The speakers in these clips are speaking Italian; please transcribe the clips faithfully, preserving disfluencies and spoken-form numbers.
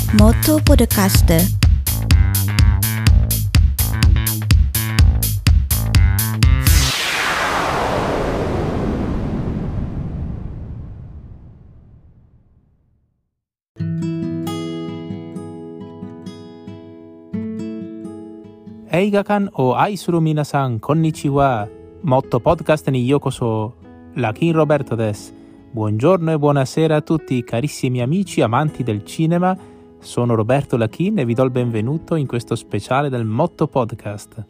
Motto Podcast. Eigakan o Aisuru minasan konnichiwa. Motto Podcast ni yokoso. Lakin Roberto des. Buongiorno e buonasera a tutti carissimi amici amanti del cinema. Sono Roberto Lachin e vi do il benvenuto in questo speciale del Motto Podcast.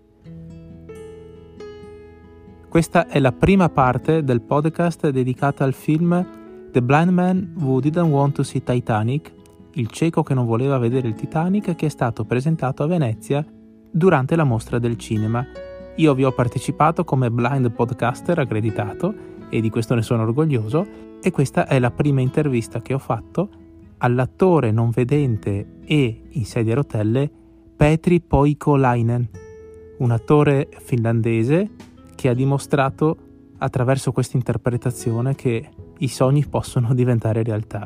Questa è la prima parte del podcast dedicata al film The Blind Man Who Didn't Want to See Titanic, il cieco che non voleva vedere il Titanic, che è stato presentato a Venezia durante la mostra del cinema. Io vi ho partecipato come blind podcaster accreditato e di questo ne sono orgoglioso, e questa è la prima intervista che ho fatto all'attore non vedente e in sedia a rotelle Petri Poikolainen, un attore finlandese che ha dimostrato attraverso questa interpretazione che i sogni possono diventare realtà.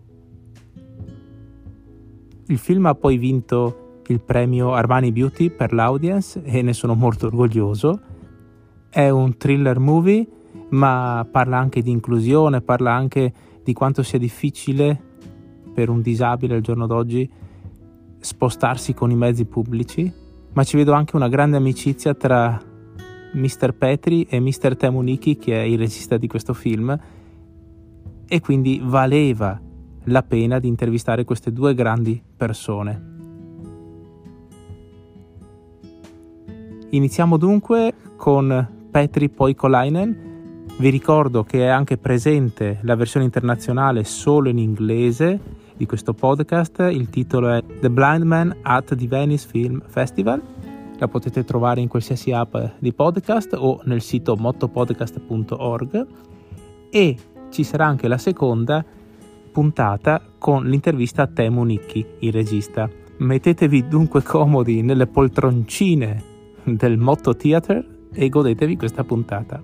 Il film ha poi vinto il premio Armani Beauty per l'audience e ne sono molto orgoglioso. È un thriller movie, ma parla anche di inclusione, parla anche di quanto sia difficile per un disabile al giorno d'oggi spostarsi con i mezzi pubblici, ma ci vedo anche una grande amicizia tra mister Petri e mister Teemu Nikki, che è il regista di questo film, e quindi valeva la pena di intervistare queste due grandi persone. Iniziamo dunque con Petri Poikolainen. Vi ricordo che è anche presente la versione internazionale solo in inglese di questo podcast. Il titolo è The Blind Man at the Venice Film Festival. La potete trovare in qualsiasi app di podcast o nel sito mottopodcast punto org, e ci sarà anche la seconda puntata con l'intervista a Teemu Nikki, il regista. Mettetevi dunque comodi nelle poltroncine del Motto Theater e godetevi questa puntata.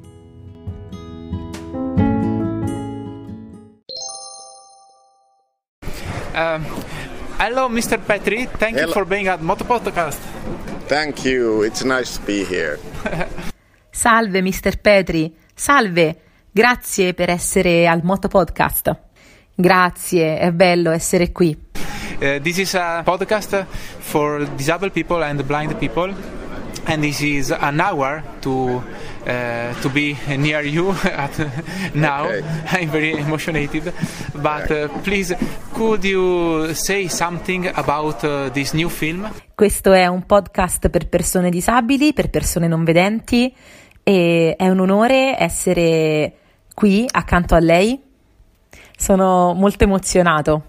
Um, hello mister Petri, thank hello. you for being at Motto Podcast. Thank you, it's nice to be here. Salve mister Petri, salve, grazie per essere al Motto Podcast. Grazie, è bello essere qui. Uh, this is a podcast for disabled people and blind people. And this is an hour to uh, to be near you at now. Okay. I'm very emotionated, but uh, please, could you say something about uh, this new film? Questo è un podcast per persone disabili, per persone non vedenti, e è un onore essere qui accanto a lei. Sono molto emozionato.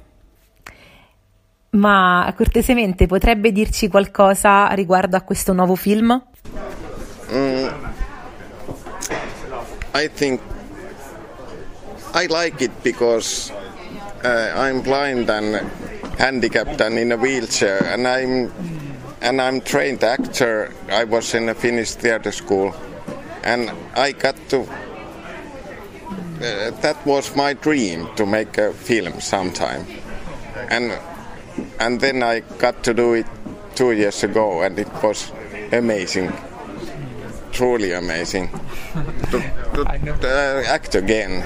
Ma cortesemente potrebbe dirci qualcosa riguardo a questo nuovo film? Mm, I think I like it because uh, I'm blind and handicapped and in a wheelchair, and I'm and I'm trained actor. I was in a Finnish theatre school, and I got to. Uh, that was my dream, to make a film sometime, and. And then I got to do it two years ago, and it was amazing, truly amazing. to to uh, act again.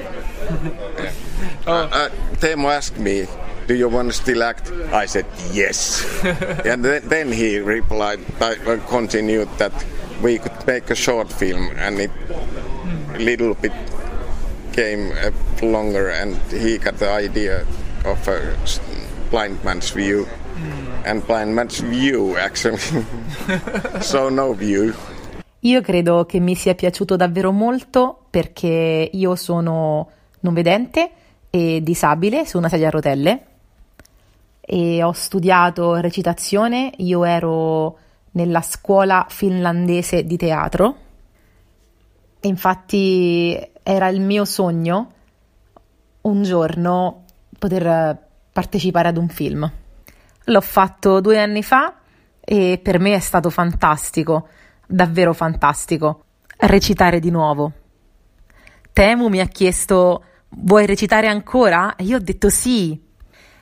oh. uh, uh, Teemu asked me, "Do you want to still act?" I said yes. And then, then he replied, I continued that we could make a short film, and it a little bit came uh, longer, and he got the idea of a blind man's view, mm. and blind man's view actually. So no view. Io credo che mi sia piaciuto davvero molto, perché io sono non vedente e disabile su una sedia a rotelle, e ho studiato recitazione. Io ero nella scuola finlandese di teatro, e infatti era il mio sogno un giorno poter partecipare ad un film. L'ho fatto due anni fa e per me è stato fantastico, davvero fantastico, recitare di nuovo. Teemu mi ha chiesto: vuoi recitare ancora? E io ho detto sì.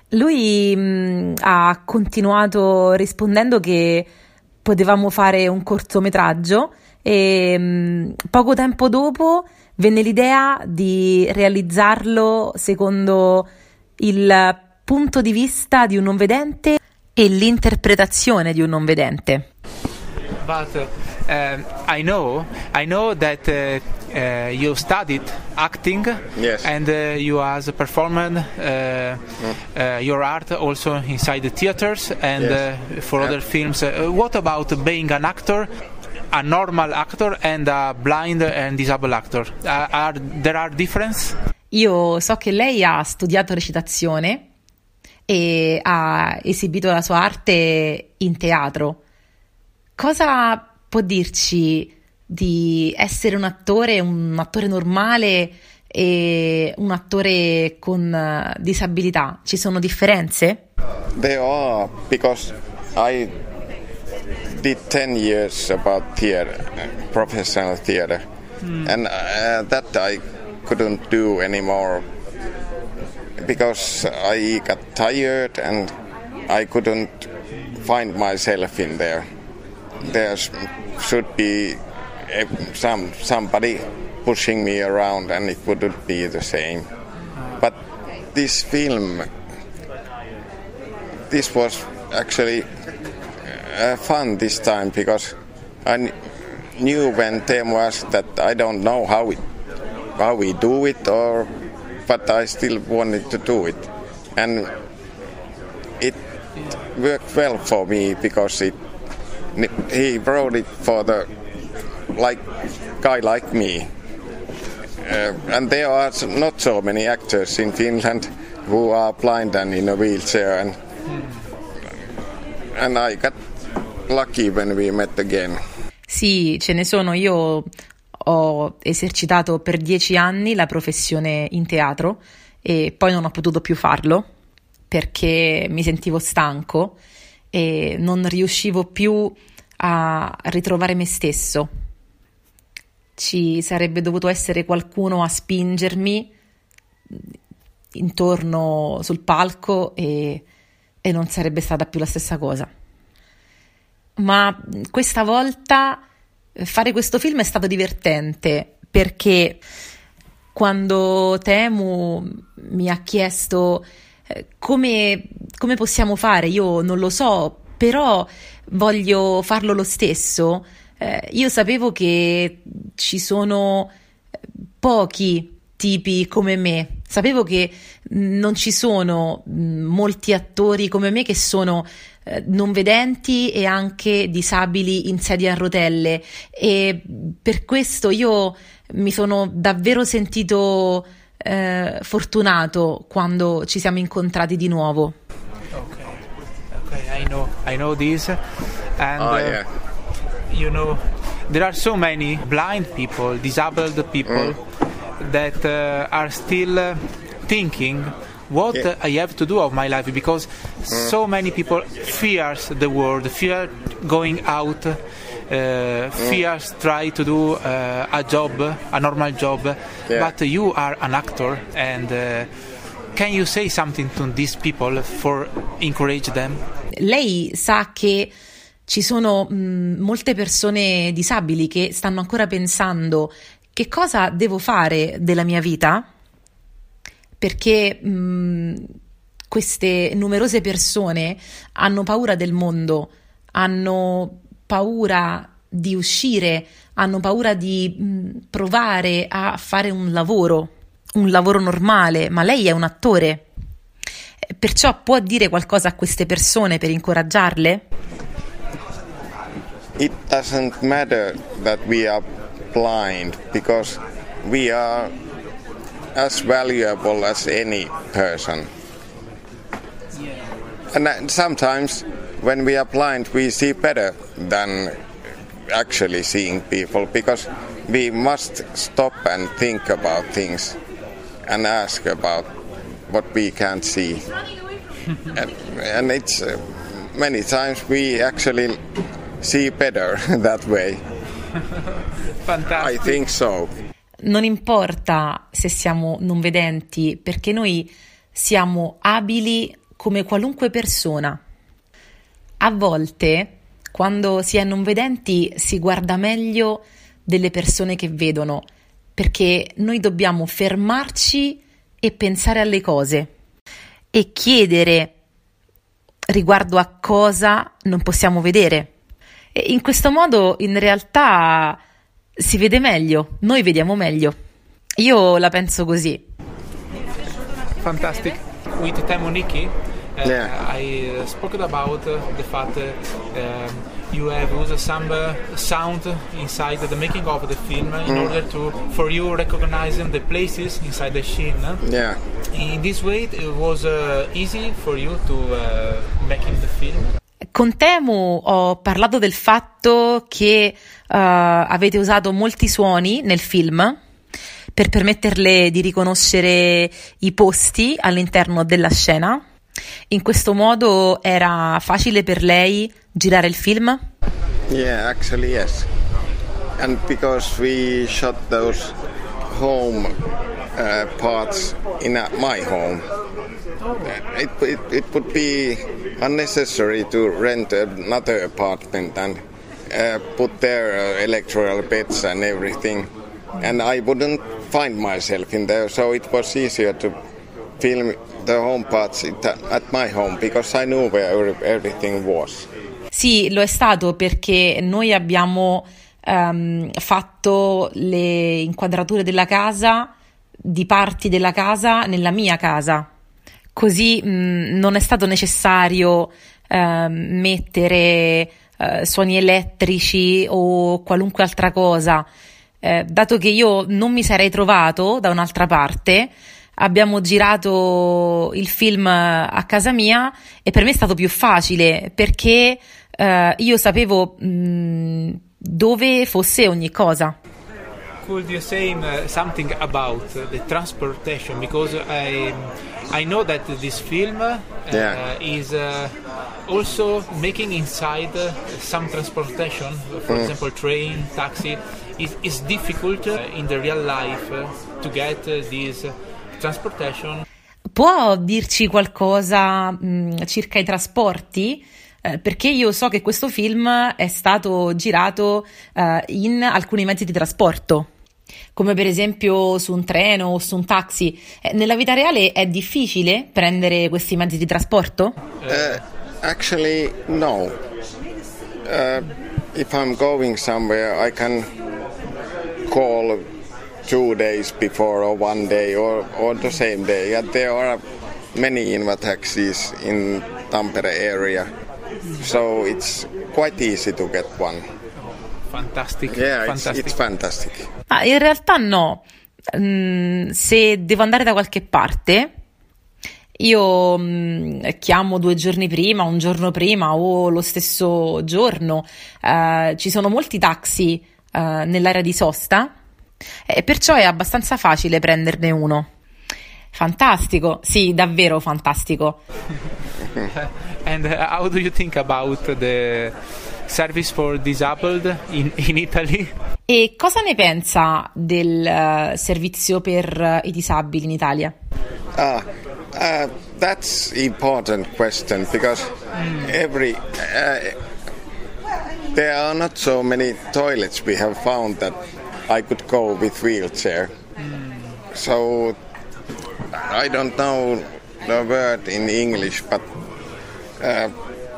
Lui mh, ha continuato rispondendo che potevamo fare un cortometraggio e mh, poco tempo dopo venne l'idea di realizzarlo secondo il punto di vista di un non vedente e l'interpretazione di un non vedente. But uh, I know, I know that uh, uh, you studied acting, Yes. and uh, you has performed uh, Mm. uh, your art also inside the theaters and Yes. uh, for Yeah. other films. Uh, what about being an actor, a normal actor and a blind and disabled actor? Uh, are there are difference? Io so che lei ha studiato recitazione e ha esibito la sua arte in teatro. Cosa può dirci di essere un attore, un attore normale e un attore con eh, disabilità? Ci sono differenze? There are, because I did ten years about theater, uh, professional theater, and uh, that I couldn't do anymore because I got tired and I couldn't find myself in there. There should be uh, some somebody pushing me around, and it wouldn't be the same. But this film, this was actually uh, fun this time because I kn- knew when Teemu asked that I don't know how it, how we do it, or but I still wanted to do it, and it worked well for me because it he wrote it for the like guy like me, uh, and there are not so many actors in Finland who are blind and in a wheelchair, and and I got lucky when we met again. Sì, ce ne sono. Io ho esercitato per dieci anni la professione in teatro e poi non ho potuto più farlo perché mi sentivo stanco e non riuscivo più a ritrovare me stesso. Ci sarebbe dovuto essere qualcuno a spingermi intorno sul palco e, e non sarebbe stata più la stessa cosa. Ma questa volta fare questo film è stato divertente perché quando Teemu mi ha chiesto eh, come, come possiamo fare, io non lo so, però voglio farlo lo stesso, eh, io sapevo che ci sono pochi tipi come me, sapevo che non ci sono mh, molti attori come me che sono eh, non vedenti e anche disabili in sedia a rotelle, e per questo io mi sono davvero sentito eh, fortunato quando ci siamo incontrati di nuovo. Okay, okay, I know, I know this, and Oh, uh, yeah. you know, there are so many blind people, disabled people that uh, are still uh, thinking what Yeah. uh, I have to do of my life, because so many people fears the world, fear going out, uh, fears try to do uh, a job, a normal job, Yeah. but you are an actor, and uh, can you say something to these people for encourage them? Lei sa che ci sono mh, molte persone disabili che stanno ancora pensando che cosa devo fare della mia vita, perché mh, queste numerose persone hanno paura del mondo, hanno paura di uscire, hanno paura di mh, provare a fare un lavoro, un lavoro normale, ma lei è un attore. Perciò può dire qualcosa a queste persone per incoraggiarle? It doesn't matter that we are blind because we are as valuable as any person. And uh, sometimes when we are blind we see better than actually seeing people because we must stop and think about things and ask about what we can't see. and, and it's uh, many times we actually see better that way. Fantastic. I think so. Non importa se siamo non vedenti, perché noi siamo abili come qualunque persona. A volte, quando si è non vedenti, si guarda meglio delle persone che vedono, perché noi dobbiamo fermarci e pensare alle cose e chiedere riguardo a cosa non possiamo vedere. E in questo modo, in realtà, si vede meglio, noi vediamo meglio. Io la penso così. Fantastic. With Temo Nikki, uh, Yeah. I uh, spoke about uh, the fact that um, you have used some uh, sound inside the making of the film in order to, for you recognizing the places inside the scene. Yeah. In this way, it was uh, easy for you to uh, making the film. Con Temu ho parlato del fatto che uh, avete usato molti suoni nel film per permetterle di riconoscere i posti all'interno della scena. In questo modo era facile per lei girare il film? Yeah, actually yes. And because we shot those home uh, parts in uh, my home, it, it it would be unnecessary to rent another apartment and uh, put their uh, electoral beds and everything, and I wouldn't find myself in there, so it was easier to film the home parts at my home because I knew where everything was. Sì, lo è stato perché noi abbiamo um, fatto le inquadrature della casa, di parti della casa, nella mia casa. Così mh, non è stato necessario uh, mettere uh, suoni elettrici o qualunque altra cosa. Uh, dato che io non mi sarei trovato da un'altra parte, abbiamo girato il film a casa mia e per me è stato più facile perché uh, io sapevo mh, dove fosse ogni cosa. Could you say uh, something about uh, the transportation? Because I I know that this film uh, Yeah. is uh, also making inside uh, some transportation, for Mm. example, train, taxi. Is is difficult uh, in the real life uh, to get uh, this uh, transportation? Può dirci qualcosa mh, circa i trasporti? Eh, perché io so che questo film è stato girato eh, in alcuni mezzi di trasporto, come per esempio su un treno o su un taxi. Eh, nella vita reale è difficile prendere questi mezzi di trasporto? Uh, actually, no. Uh, if I'm going somewhere, I can call two days before or one day or, or the same day. And there are many Inva taxis in Tampere area, so it's quite easy to get one. Fantastic. Yeah, it's, fantastic. it's fantastic. Ah, in realtà no. Mm, se devo andare da qualche parte, io mm, chiamo due giorni prima, un giorno prima o lo stesso giorno. Uh, ci sono molti taxi uh, nell'area di sosta e perciò è abbastanza facile prenderne uno. Fantastico, sì, davvero fantastico. And uh, how do you think about the service for disabled in, in Italy? E cosa ne pensa del uh, servizio per uh, i disabili in Italia? Ah, uh, that's important question because every uh, there are not so many toilets we have found that I could go with wheelchair. So I don't know the word in English, but uh,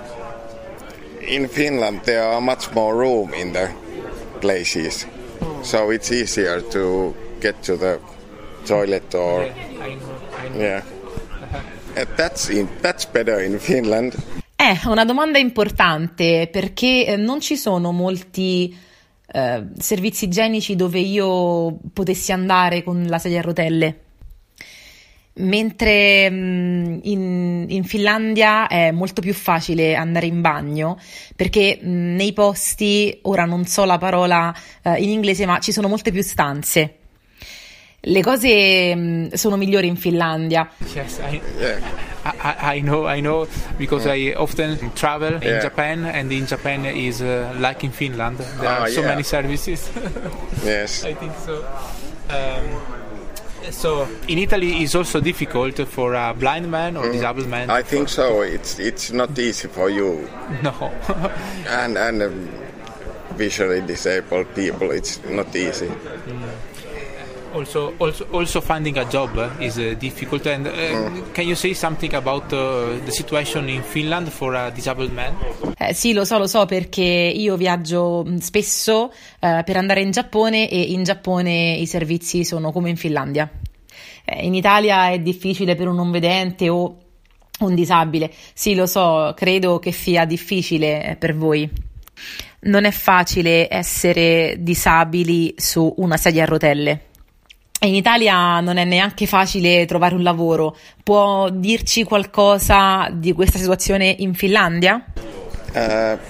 in Finland there are much more room in the places, so it's easier to get to the toilet or Yeah, I know, I know. yeah. Uh, that's in, that's better in Finland. È una domanda importante perché eh, non ci sono molti eh, servizi igienici dove io potessi andare con la sedia a rotelle. Mentre mh, in, in Finlandia è molto più facile andare in bagno perché mh, nei posti, ora non so la parola eh, in inglese, ma ci sono molte più stanze. Le cose mh, sono migliori in Finlandia. Yes, I, Yeah. I, I know, I know, because I often travel in Yeah. Japan, and in Japan is uh, like in Finland. There Ah, are so yeah. many services. Yes. I think so. Um, So in Italy it's also difficult for a blind man or mm. disabled man. I think so. It's it's not easy for you. No. and and um, visually disabled people, it's not easy. Mm. Also, also, also finding a job uh, is uh, difficult. And uh, mm. can you say something about uh, the situation in Finland for a disabled man? Eh, sì, lo so, lo so, perché io viaggio spesso eh, per andare in Giappone e in Giappone i servizi sono come in Finlandia. Eh, in Italia è difficile per un non vedente o un disabile. Sì, lo so, credo che sia difficile per voi. Non è facile essere disabili su una sedia a rotelle. In Italia non è neanche facile trovare un lavoro. Può dirci qualcosa di questa situazione in Finlandia? Uh,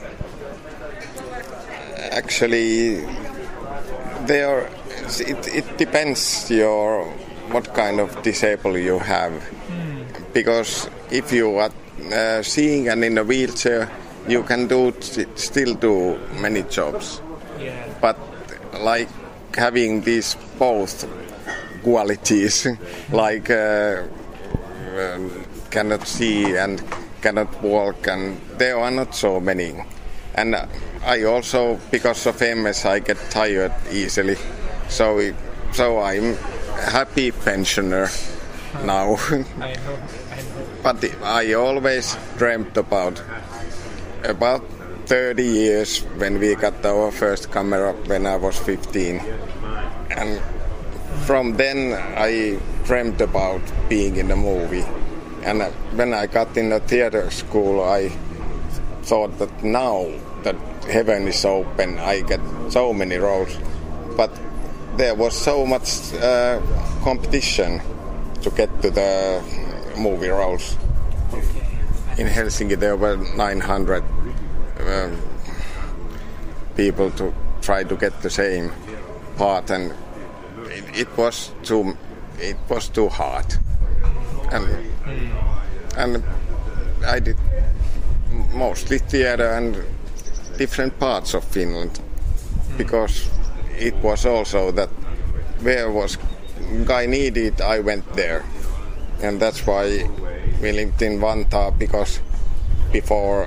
actually, there it, it depends your what kind of disable you have. Mm. Because if you are uh, seeing and in a wheelchair, you can do still do many jobs. Yeah. But like having these both qualities, like uh, uh, cannot see and cannot walk, and there are not so many. And I also, because of M S, I get tired easily. So, so I'm a happy pensioner now. I know, I know. But I always dreamt about about thirty years when we got our first camera when I was fifteen. And from then I dreamt about being in a movie. And when I got in a theater school, I thought that now that heaven is open, I get so many roles. But there was so much uh, competition to get to the movie roles. In Helsinki there were nine hundred um, people to try to get the same part, and it, it was too it was too hard. And and I did mostly theater and different parts of Finland, because it was also that where was guy needed, I went there. And that's why we lived in Vantaa, because before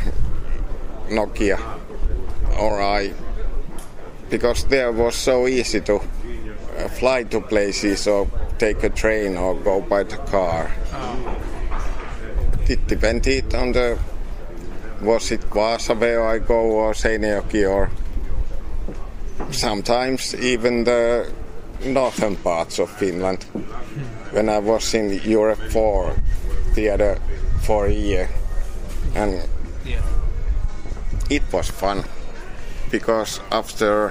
Nokia or I, because there was so easy to uh, fly to places or take a train or go by the car. Oh. It depended on the, was it Vaasa where I go, or Seinäjoki, or sometimes even the northern parts of Finland. When I was in Europe four theater for a year, and yeah. It was fun, because after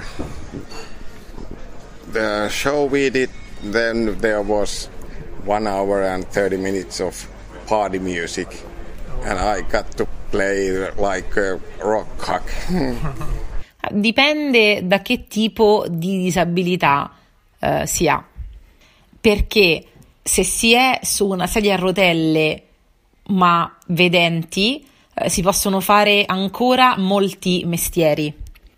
the show we did, then there was one hour and thirty minutes of party music, and I got to play like a rock hack. Dipende da che tipo di disabilità uh, si ha, perché se si è su una sedia a rotelle ma vedenti, eh, si possono fare ancora molti mestieri,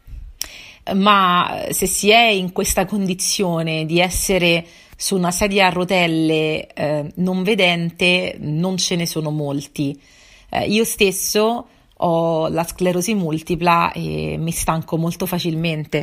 ma se si è in questa condizione di essere su una sedia a rotelle eh, non vedente, non ce ne sono molti. Eh, io stesso ho la sclerosi multipla e mi stanco molto facilmente.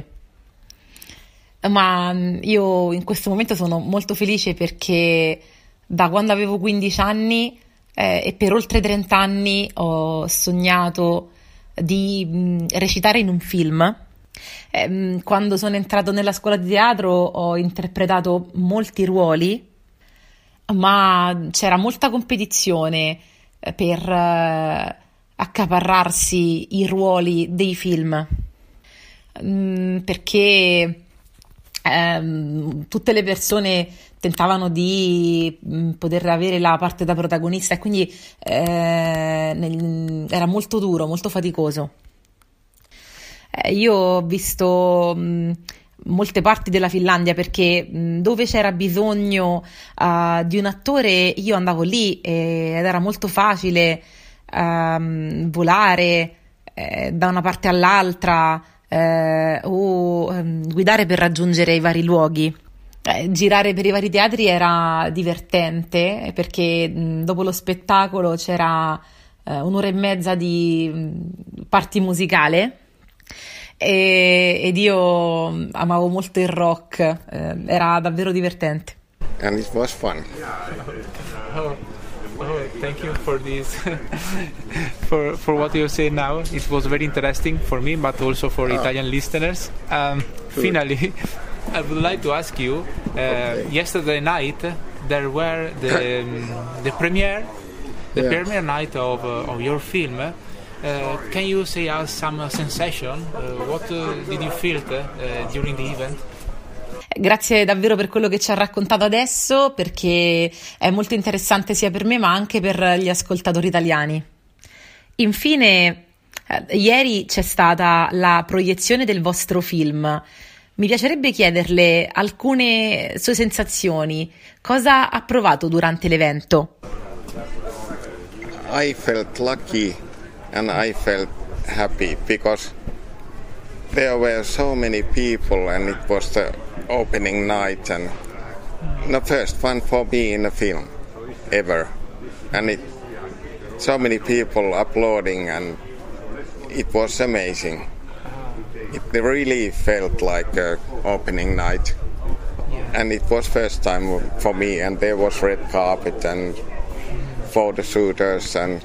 Ma io in questo momento sono molto felice, perché da quando avevo quindici anni eh, e per oltre trenta anni ho sognato di mh, recitare in un film. Eh, mh, quando sono entrato nella scuola di teatro ho interpretato molti ruoli, ma c'era molta competizione per eh, accaparrarsi i ruoli dei film, mh, perché Um, tutte le persone tentavano di um, poter avere la parte da protagonista, e quindi eh, nel, era molto duro, molto faticoso. Eh, io ho visto um, molte parti della Finlandia, perché um, dove c'era bisogno uh, di un attore io andavo lì, e, ed era molto facile um, volare eh, da una parte all'altra, Eh, o ehm, guidare per raggiungere i vari luoghi. Eh, girare per i vari teatri era divertente perché mh, dopo lo spettacolo c'era eh, un'ora e mezza di mh, party musicale e, ed io amavo molto il rock, eh, era davvero divertente. And it was fun. Oh, oh, thank you for this, for for what you say now. It was very interesting for me, but also for oh. Italian listeners. Um, finally, I would like to ask you. Uh, okay. Yesterday night there were the um, the premiere, the yeah. premiere night of uh, of your film. Uh, can you say us some uh, sensation? Uh, what uh, did you feel uh, during the event? Grazie davvero per quello che ci ha raccontato adesso, perché è molto interessante sia per me ma anche per gli ascoltatori italiani. Infine, eh, ieri c'è stata la proiezione del vostro film. Mi piacerebbe chiederle alcune sue sensazioni. Cosa ha provato durante l'evento? I felt lucky and I felt happy because there were so many people and it was the opening night and the first one for me in a film ever, and it so many people applauding and it was amazing. It really felt like a opening night and it was first time for me, and there was red carpet and photo shooters and,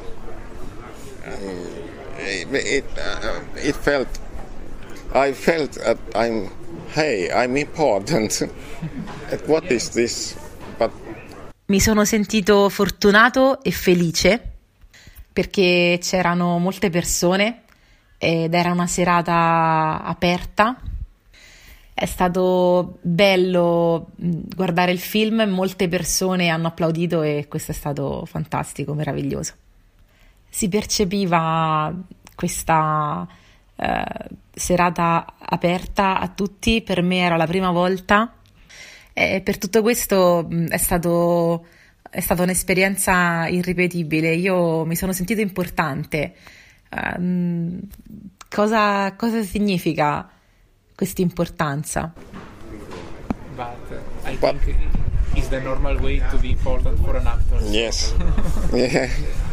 and it it, uh, it felt I felt that I'm hey, I'm important. What is this? But mi sono sentito fortunato e felice perché c'erano molte persone ed era una serata aperta. È stato bello guardare il film, molte persone hanno applaudito e questo è stato fantastico, meraviglioso. Si percepiva questa eh, serata aperta a tutti, per me era la prima volta e per tutto questo è stato è stata un'esperienza irripetibile. Io mi sono sentito importante. Um, cosa, cosa significa questa importanza? But I But, think it's the normal way to be important for an actor. Yes. Yeah.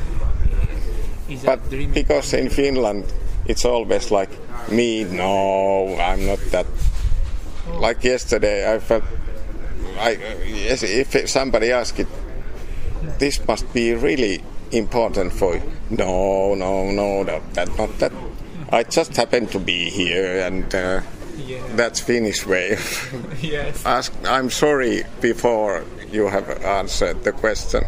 But because in Finland it's always like me, no, I'm not that. Oh. Like yesterday, I felt, I yes, if somebody asked it, this must be really important for you. No, no, no, that, that not that. I just happen to be here, and uh, yeah. That's Finnish way. Yes. Ask. I'm sorry before you have answered the question.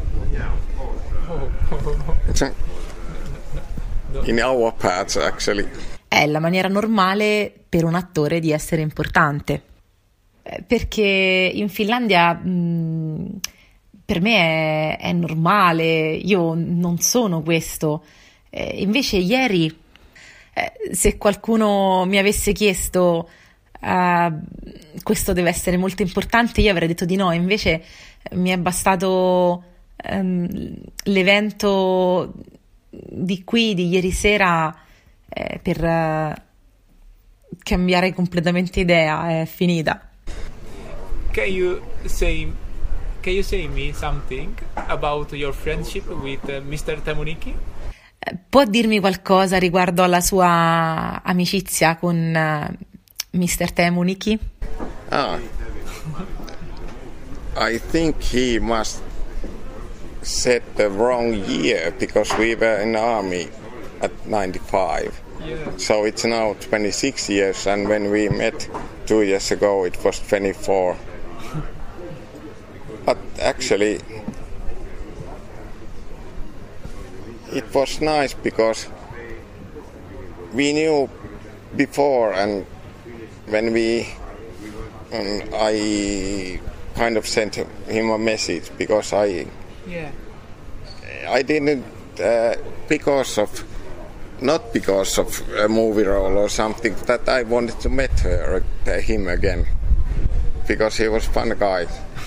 In our parts, actually. È la maniera normale per un attore di essere importante, perché in Finlandia mh, per me è, è normale, io non sono questo. Eh, invece ieri, eh, se qualcuno mi avesse chiesto uh, questo deve essere molto importante, io avrei detto di no. Invece eh, mi è bastato um, l'evento di qui, di ieri sera, eh, per uh, cambiare completamente idea. È finita. Can you say Can you say me something about your friendship with uh, mister Temuniki? Può dirmi qualcosa riguardo alla sua amicizia con uh, mister Temuniki? Ah, I think he must said the wrong year because we were in the army at ninety-five. Yeah. So it's now twenty-six years, and when we met two years ago, it was twenty-four. But actually, it was nice because we knew before, and when we, um, I kind of sent him a message because I, yeah, I didn't uh, because of, not because of a movie role or something, that I wanted to meet her, uh, him again, because he was a fun guy.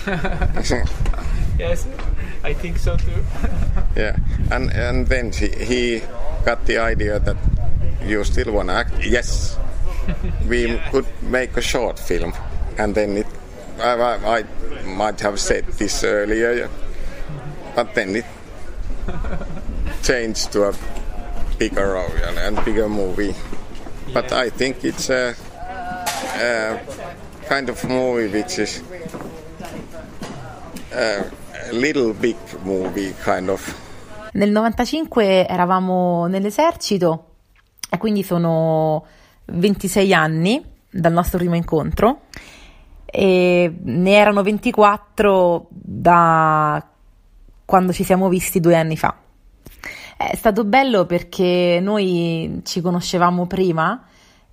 Yes, I think so too. Yeah, and and then he, he got the idea that you still want to act. Yes, we yeah. could make a short film, and then it I, I, I might have said this earlier, but then it changed to a bigger role and bigger movie. But I think it's a, a kind of movie which is a little big movie kind of. Nel novantacinque eravamo nell'esercito e quindi sono ventisei anni dal nostro primo incontro e ne erano ventiquattro da quando ci siamo visti due anni fa. È stato bello perché noi ci conoscevamo prima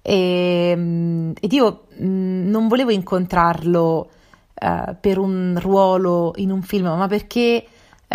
e, ed io non volevo incontrarlo uh, per un ruolo in un film, ma perché uh,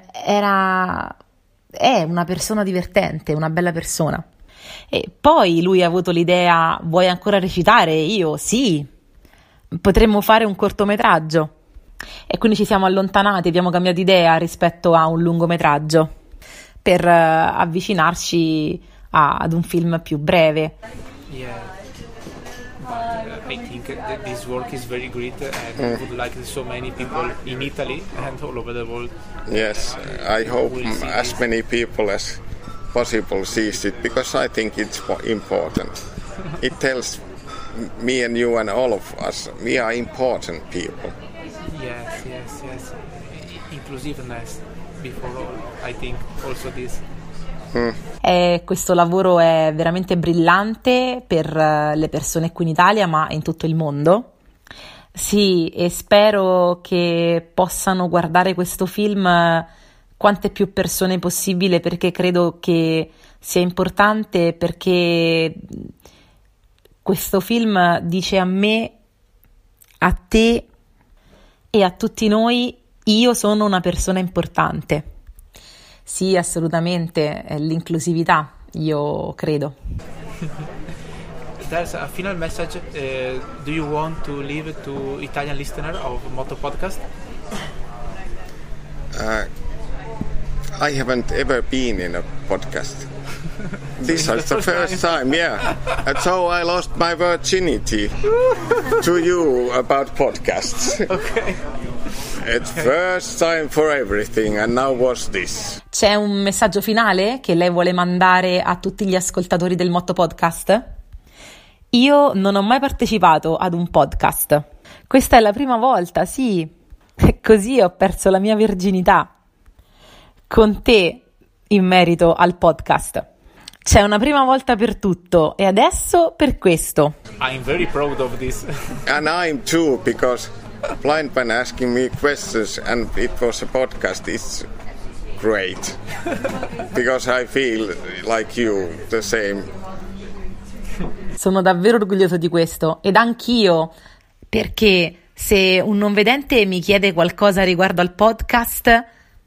era è una persona divertente, una bella persona. E poi lui ha avuto l'idea: vuoi ancora recitare? Io sì, potremmo fare un cortometraggio. E quindi ci siamo allontanati, abbiamo cambiato idea rispetto a un lungometraggio per uh, avvicinarci a, ad un film più breve. Yeah, but uh, I think that this work is very great and mm. would like so many people in Italy and all over the world. Yes, I hope as this. many people as possible sees it, because I think it's important. It tells me and you and all of us we are important people. Yes, yes, yes. Inclusiveness before all, I think also this. Mm. E questo lavoro è veramente brillante per le persone qui in Italia, ma in tutto il mondo. Sì, e spero che possano guardare questo film quante più persone possibile, perché credo che sia importante, perché questo film dice a me, a te e a tutti noi: io sono una persona importante. Sì, assolutamente, è l'inclusività, io credo. There's a final message. Uh, do you want to leave to Italian listener of Moto Podcast? Uh, I haven't ever been in a podcast. This is the, the first time, time yeah. And so I lost my virginity to you about podcasts. Okay. It's first time for everything, and now what's this? C'è un messaggio finale che lei vuole mandare a tutti gli ascoltatori del Motto Podcast? Io non ho mai partecipato ad un podcast. Questa è la prima volta, sì. E così ho perso la mia virginità con te in merito al podcast. C'è una prima volta per tutto, e adesso per questo. I'm very proud of this. And I'm too, because Blind Man asking me questions and it was a podcast. It's great because I feel like you, the same. Sono davvero orgoglioso di questo, ed anch'io, perché se un non vedente mi chiede qualcosa riguardo al podcast,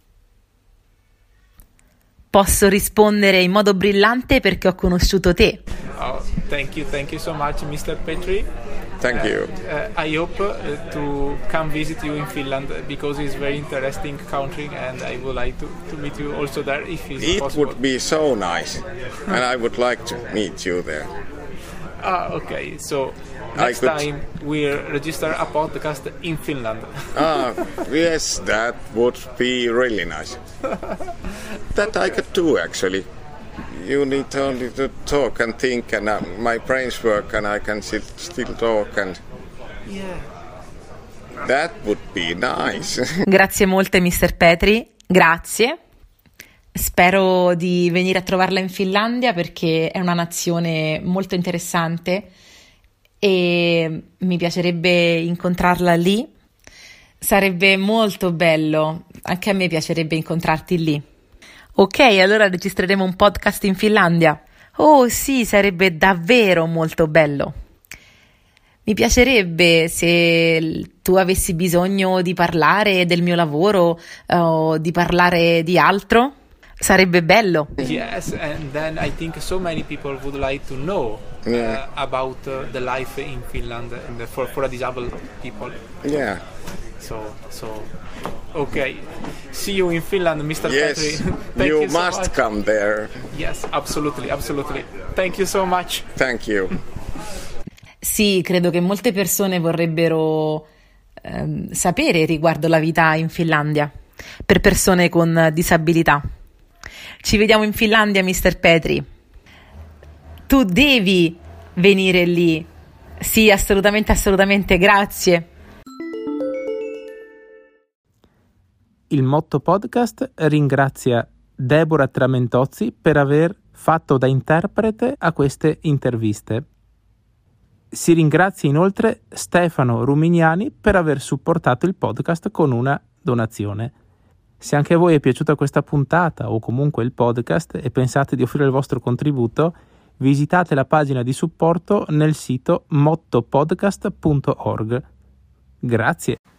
posso rispondere in modo brillante perché ho conosciuto te. Oh, thank you, thank you so much, mister Petri. Thank you. Uh, uh, I hope uh, to come visit you in Finland, because it's a very interesting country, and I would like to, to meet you also there if it's it possible. It would be so nice, and I would like to meet you there. Ah, okay. So next time we'll register a podcast in Finland. Ah, yes, that would be really nice. That I could do, actually. You need only to talk and think, and uh, my brains work, and I can sit, still talk, and yeah, that would be nice. Grazie molte, mister Petri. Grazie. Spero di venire a trovarla in Finlandia, perché è una nazione molto interessante e mi piacerebbe incontrarla lì. Sarebbe molto bello, anche a me piacerebbe incontrarti lì. Ok, allora registreremo un podcast in Finlandia. Oh sì, sarebbe davvero molto bello. Mi piacerebbe se tu avessi bisogno di parlare del mio lavoro o di parlare di altro. Sarebbe bello. Yes, and then I think so many people would like to know yeah. uh, about uh, the life in Finland and for for a disabled people. Yeah. So so okay. See you in Finland, mister Yes, Petri. Thank you, you so must much. come there. Yes, absolutely, absolutely. Thank you so much. Thank you. Sì, credo che molte persone vorrebbero ehm, sapere riguardo la vita in Finlandia per persone con disabilità. Ci vediamo in Finlandia, mister Petri. Tu devi venire lì. Sì, assolutamente, assolutamente, grazie. Il Motto Podcast ringrazia Deborah Tramentozzi per aver fatto da interprete a queste interviste. Si ringrazia inoltre Stefano Rumignani per aver supportato il podcast con una donazione. Se anche a voi è piaciuta questa puntata o comunque il podcast e pensate di offrire il vostro contributo, visitate la pagina di supporto nel sito mottopodcast punto org. Grazie.